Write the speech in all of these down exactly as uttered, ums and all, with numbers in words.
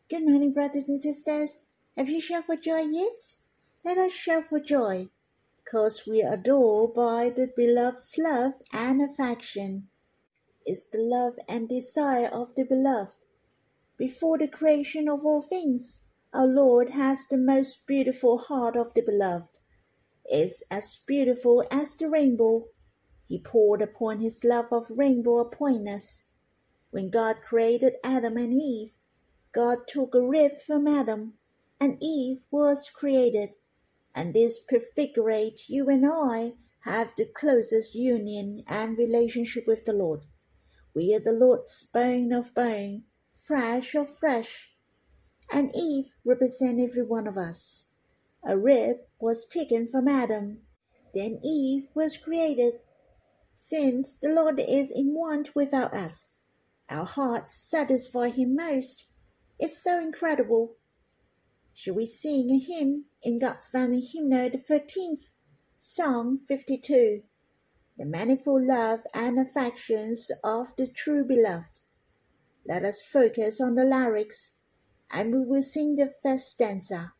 Good morning, brothers and sisters. Have you shouted for joy yet? Let us shout for joy, because we are adored by the beloved's love and affection. It's the love and desire of the beloved. Before the creation of all things, our Lord has the most beautiful heart of the beloved. It's as beautiful as the rainbow. He poured upon his love of rainbow upon us. When God created Adam and Eve, God took a rib from Adam, and Eve was created. And this prefigurates you and I have the closest union and relationship with the Lord. We are the Lord's bone of bone, flesh of flesh, and Eve represents every one of us. A rib was taken from Adam, then Eve was created. Since the Lord is in want without us, our hearts satisfy him most. It's so incredible. Shall we sing a hymn in God's Family Hymnal, the thirteenth, Psalm fifty-two, the manifold love and affections of the true beloved? Let us focus on the lyrics, and we will sing the first stanza.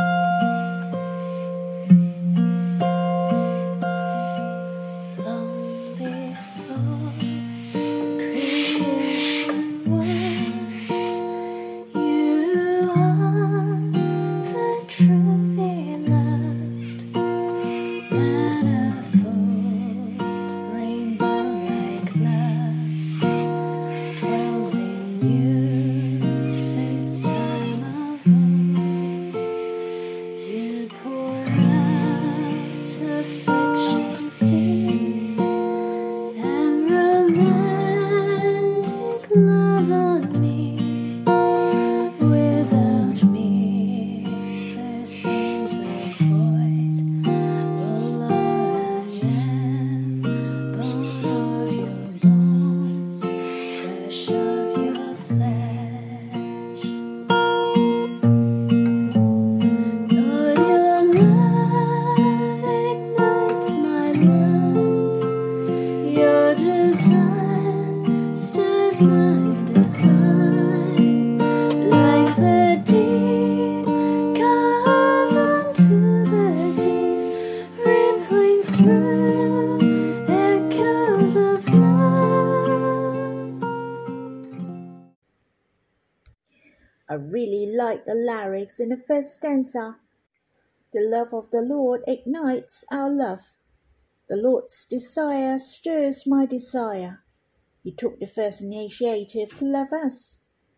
I really like the lyrics in the first stanza. The love of the Lord ignites our love. The Lord's desire stirs my desire. He took the first initiative to love us.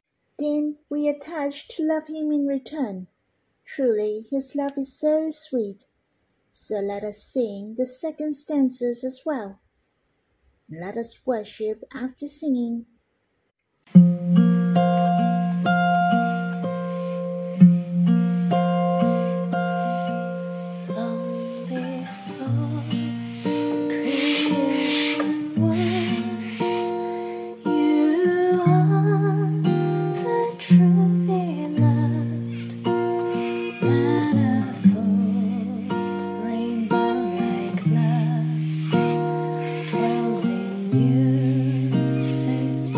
Then we attach to love him in return. Truly, his love is so sweet. So let us sing the second stanzas as well. And let us worship after singing. Since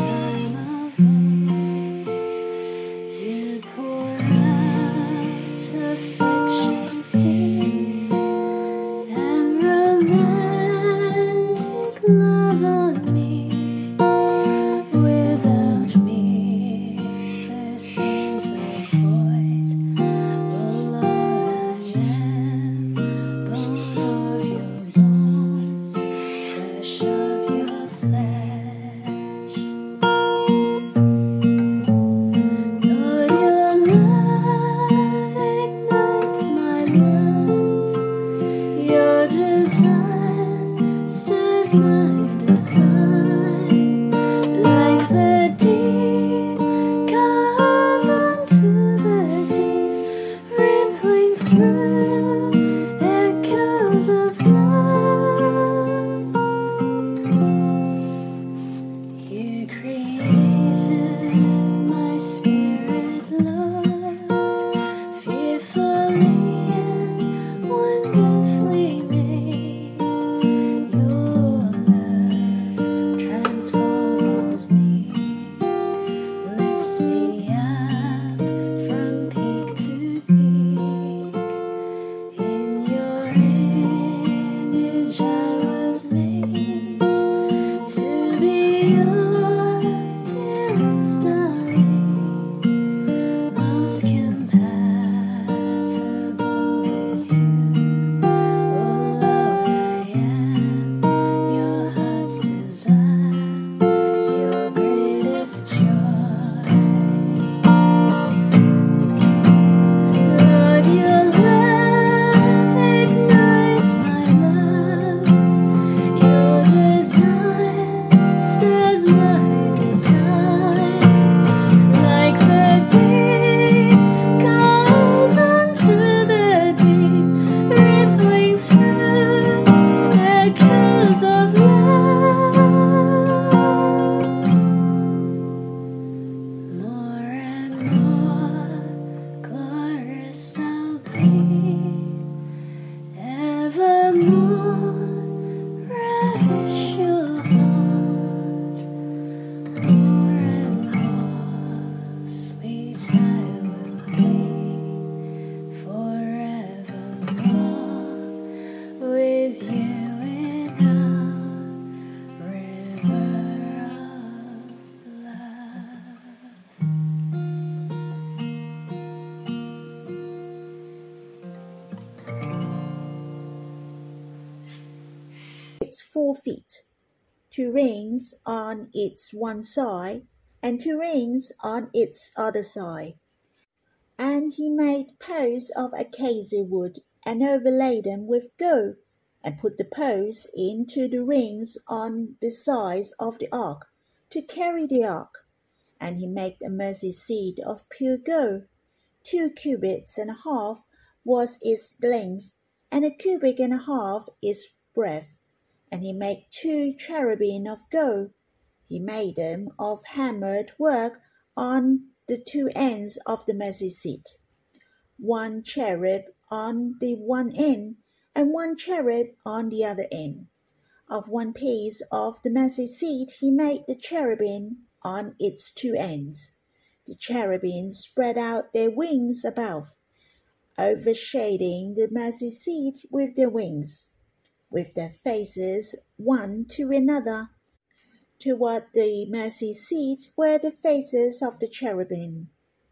four feet, two rings on its one side, and two rings on its other side. And he made posts of acacia wood, and overlaid them with gold, and put the posts into the rings on the sides of the ark, to carry the ark. And he made a mercy seat of pure gold. Two cubits and a half was its length, and a cubit and a half its breadth. And he made two cherubim of gold. He made them of hammered work on the two ends of the mercy seat, one cherub on the one end, and one cherub on the other end. Of one piece of the mercy seat he made the cherubim on its two ends. The cherubim spread out their wings above, overshading the mercy seat with their wings, with their faces one to another. Toward the mercy seat were the faces of the cherubim.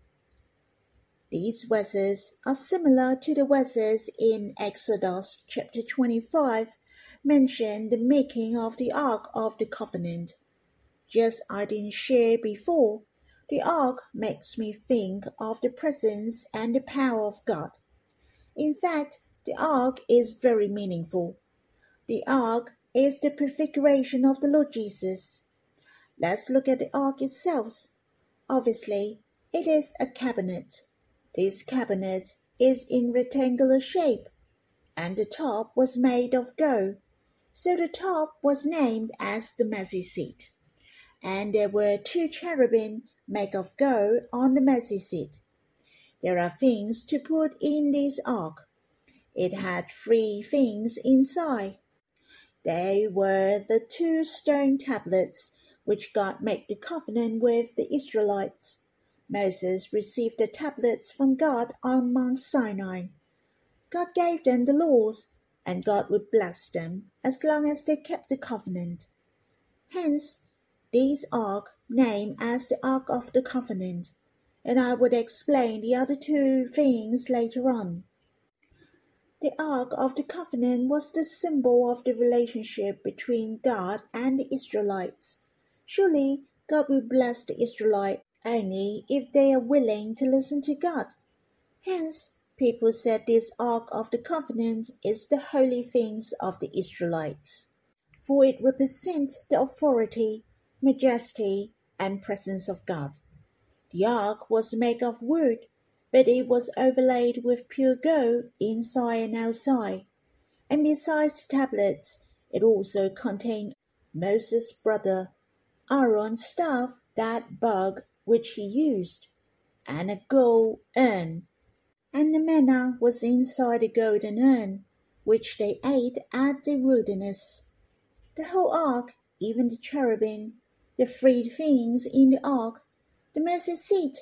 These verses are similar to the verses in Exodus chapter twenty-five, mention the making of the Ark of the Covenant. Just as I didn't share before, the Ark makes me think of the presence and the power of God. In fact, the Ark is very meaningful. The Ark is the prefiguration of the Lord Jesus. Let's look at the ark itself. Obviously, it is a cabinet. This cabinet is in rectangular shape, and the top was made of gold. So the top was named as the mercy seat. And there were two cherubim made of gold on the mercy seat. There are things to put in this ark. It had three things inside. They were the two stone tablets which God made the covenant with the Israelites. Moses received the tablets from God on Mount Sinai. God gave them the laws, and God would bless them as long as they kept the covenant. Hence, this ark named as the Ark of the Covenant, and I would explain the other two things later on. The Ark of the Covenant was the symbol of the relationship between God and the Israelites. Surely, God will bless the Israelites only if they are willing to listen to God. Hence, people said this Ark of the Covenant is the holy things of the Israelites, for it represents the authority, majesty, and presence of God. The Ark was made of wood, but it was overlaid with pure gold inside and outside. And besides the tablets, it also contained Moses' brother Aaron's staff, that bug which he used, and a gold urn. And the manna was inside the golden urn, which they ate at the wilderness. The whole ark, even the cherubim, the three things in the ark, the mercy seat,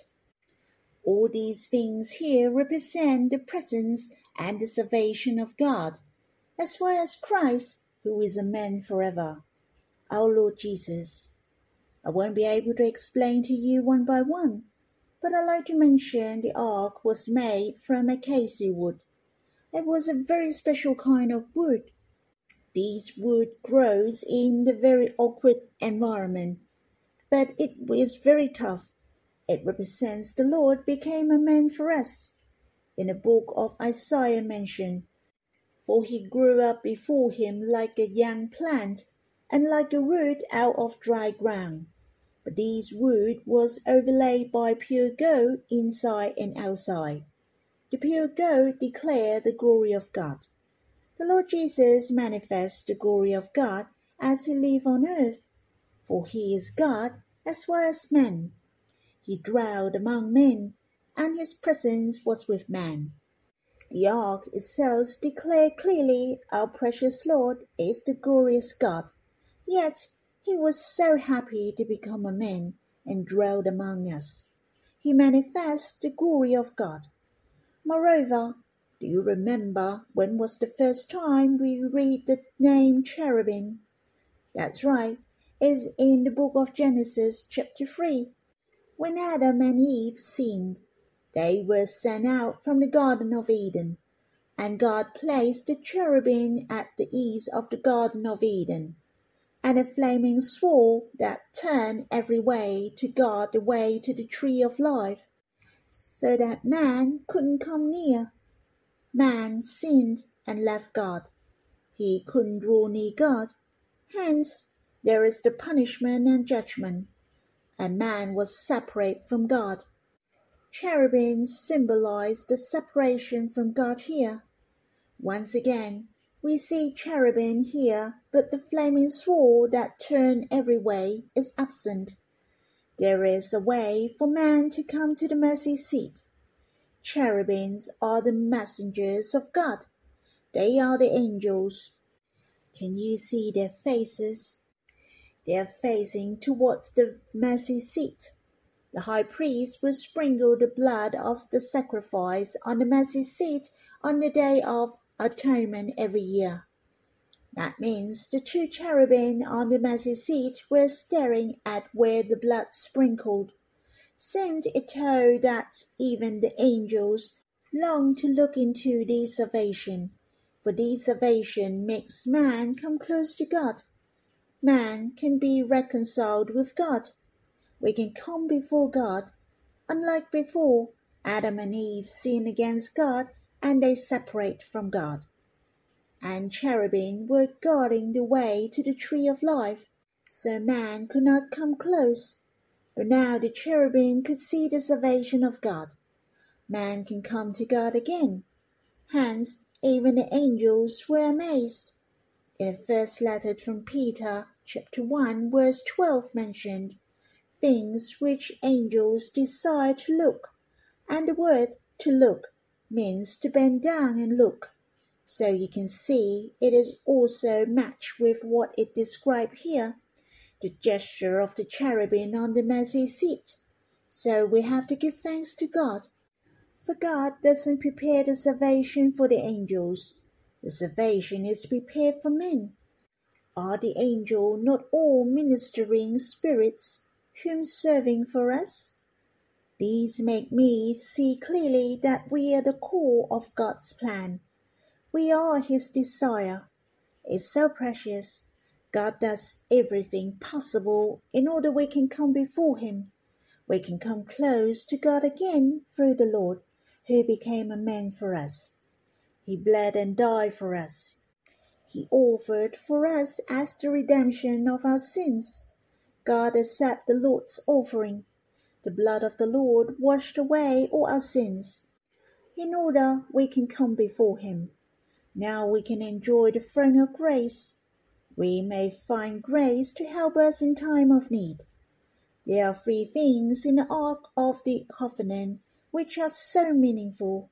all these things here represent the presence and the salvation of God, as well as Christ, who is a man forever, our Lord Jesus. I won't be able to explain to you one by one, but I'd like to mention the ark was made from acacia wood. It was a very special kind of wood. This wood grows in the very awkward environment, but it is very tough. It represents the Lord became a man for us. In the book of Isaiah mentioned, for he grew up before him like a young plant, and like a root out of dry ground. But this wood was overlaid by pure gold inside and outside. The pure gold declared the glory of God. The Lord Jesus manifests the glory of God as he lived on earth, for he is God as well as man. He dwelled among men, and his presence was with man. The ark itself declared clearly our precious Lord is the glorious God. Yet he was so happy to become a man and dwelled among us. He manifests the glory of God. Moreover, do you remember when was the first time we read the name cherubim? That's right, it's in the book of Genesis chapter three. When Adam and Eve sinned, they were sent out from the Garden of Eden, and God placed the cherubim at the east of the Garden of Eden, and a flaming sword that turned every way to guard the way to the tree of life, so that man couldn't come near. Man sinned and left God. He couldn't draw near God. Hence, there is the punishment and judgment, and man was separate from God. Cherubim symbolize the separation from God here. Once again, we see cherubim here, but the flaming sword that turned every way is absent. There is a way for man to come to the mercy seat. Cherubims are the messengers of God. They are the angels. Can you see their faces? They are facing towards the mercy seat. The high priest will sprinkle the blood of the sacrifice on the mercy seat on the day of atonement every year. That means the two cherubim on the mercy seat were staring at where the blood sprinkled. Seemed it told that even the angels long to look into this salvation, for this salvation makes man come close to God. Man can be reconciled with God. We can come before God. Unlike before, Adam and Eve sinned against God and they separate from God. And cherubim were guarding the way to the tree of life, so man could not come close. But now the cherubim could see the salvation of God. Man can come to God again. Hence, even the angels were amazed. In the first letter from Peter, chapter one, verse twelve mentioned, things which angels desire to look, and the word to look means to bend down and look. So you can see it is also matched with what it described here, the gesture of the cherubim on the mercy seat. So we have to give thanks to God. For God doesn't prepare the salvation for the angels. The salvation is prepared for men. Are the angels not all ministering spirits, whom serving for us? These make me see clearly that we are the core of God's plan. We are His desire. It's so precious. God does everything possible in order we can come before Him. We can come close to God again through the Lord, who became a man for us. He bled and died for us. He offered for us as the redemption of our sins. God accepted the Lord's offering. The blood of the Lord washed away all our sins, in order we can come before Him. Now we can enjoy the throne of grace. We may find grace to help us in time of need. There are three things in the Ark of the Covenant which are so meaningful.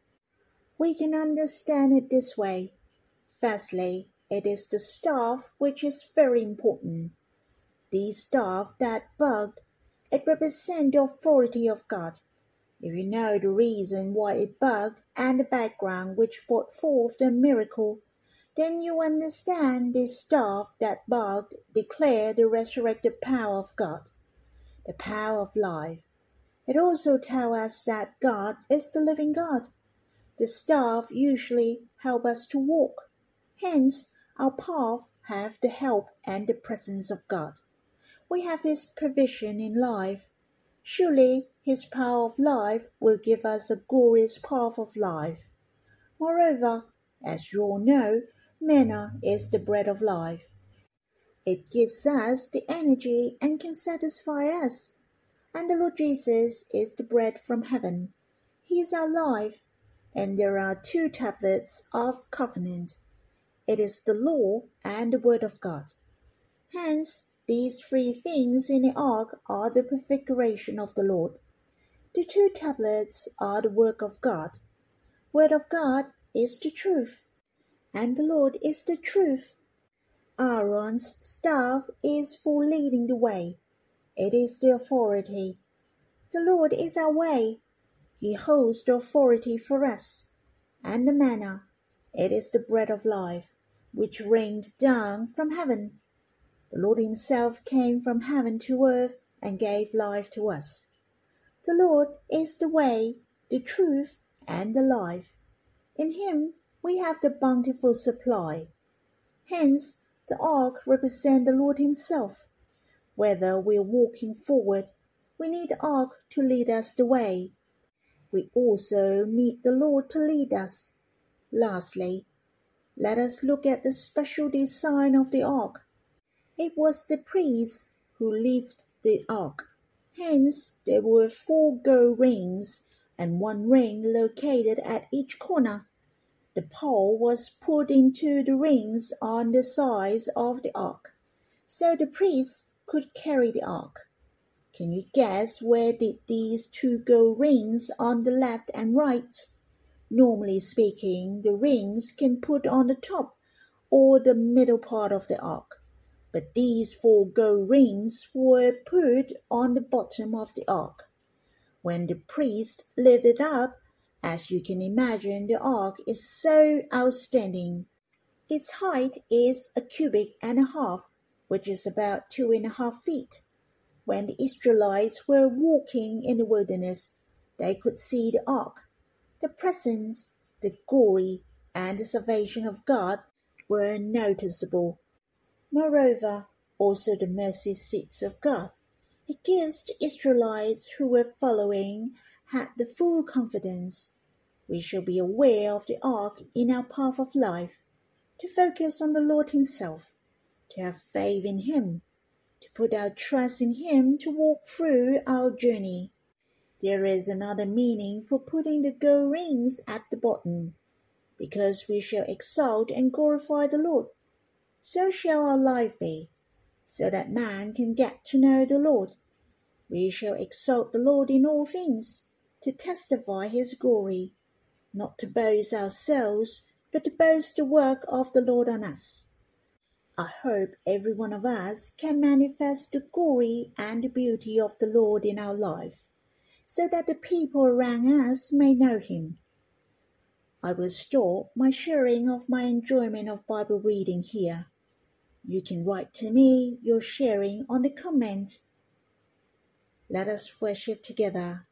We can understand it this way. Firstly, it is the staff which is very important. The staff that bugged, it represents the authority of God. If you know the reason why it bugged and the background which brought forth the miracle, then you understand this staff that bugged declared the resurrected power of God, the power of life. It also tells us that God is the living God. The staff usually help us to walk. Hence, our path have the help and the presence of God. We have His provision in life. Surely His power of life will give us a glorious path of life. Moreover, as you all know, manna is the bread of life. It gives us the energy and can satisfy us. And the Lord Jesus is the bread from heaven. He is our life. And there are two tablets of covenant. It is the law and the word of God. Hence, these three things in the ark are the prefiguration of the Lord. The two tablets are the work of God. Word of God is the truth, and the Lord is the truth. Aaron's staff is for leading the way. It is the authority. The Lord is our way. He holds the authority for us. And the manna, it is the bread of life, which rained down from heaven. The Lord Himself came from heaven to earth and gave life to us. The Lord is the way, the truth, and the life. In Him we have the bountiful supply. Hence, The ark represents the Lord himself. Whether we're walking forward, we need the ark to lead us the way. We also need the Lord to lead us. Lastly, let us look at the special design of the ark. It was the priests who lifted the ark. Hence, there were four gold rings and one ring located at each corner. The pole was put into the rings on the sides of the ark, so the priests could carry the ark. Can you guess where did these two gold rings on the left and right? Normally speaking, the rings can put on the top or the middle part of the ark, but these four gold rings were put on the bottom of the ark. When the priest lifted up, as you can imagine, the ark is so outstanding. Its height is a cubit and a half, which is about two and a half feet. When the Israelites were walking in the wilderness, they could see the ark. The presence, the glory, and the salvation of God were noticeable. Moreover, also the mercy seats of God. It gives the Israelites who were following had the full confidence. We shall be aware of the ark in our path of life, to focus on the Lord himself, to have faith in him, to put our trust in him to walk through our journey. There is another meaning for putting the gold rings at the bottom, because we shall exalt and glorify the Lord. So shall our life be, so that man can get to know the Lord. We shall exalt the Lord in all things, to testify his glory, not to boast ourselves, but to boast the work of the Lord on us. I hope every one of us can manifest the glory and the beauty of the Lord in our life, so that the people around us may know him. I will stop my sharing of my enjoyment of Bible reading here. You can write to me your sharing on the comment. Let us worship together.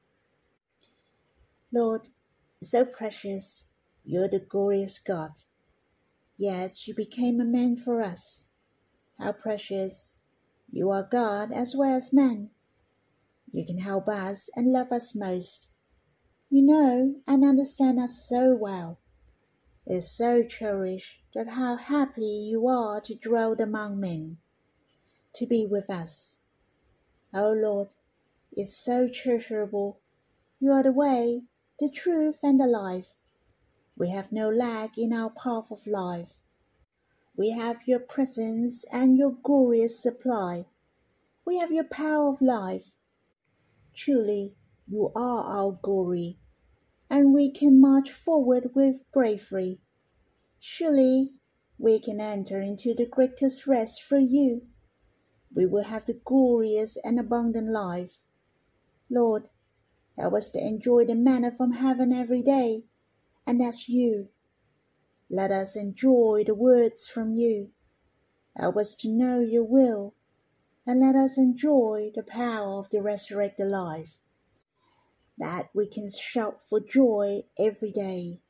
Lord, so precious, you're the glorious God. Yet you became a man for us. How precious, you are God as well as man. You can help us and love us most. You know and understand us so well. It is so cherished that how happy you are to dwell among men, to be with us. O Lord, it's so treasurable. You are the way, the truth, and the life. We have no lack in our path of life. We have your presence and your glorious supply. We have your power of life. Truly, you are our glory, and we can march forward with bravery. Surely, we can enter into the greatest rest through you. We will have the glorious and abundant life. Lord, help us to enjoy the manna from heaven every day, and that's you. Let us enjoy the words from you. Help us to know your will, and let us enjoy the power of the resurrected life, that we can shout for joy every day.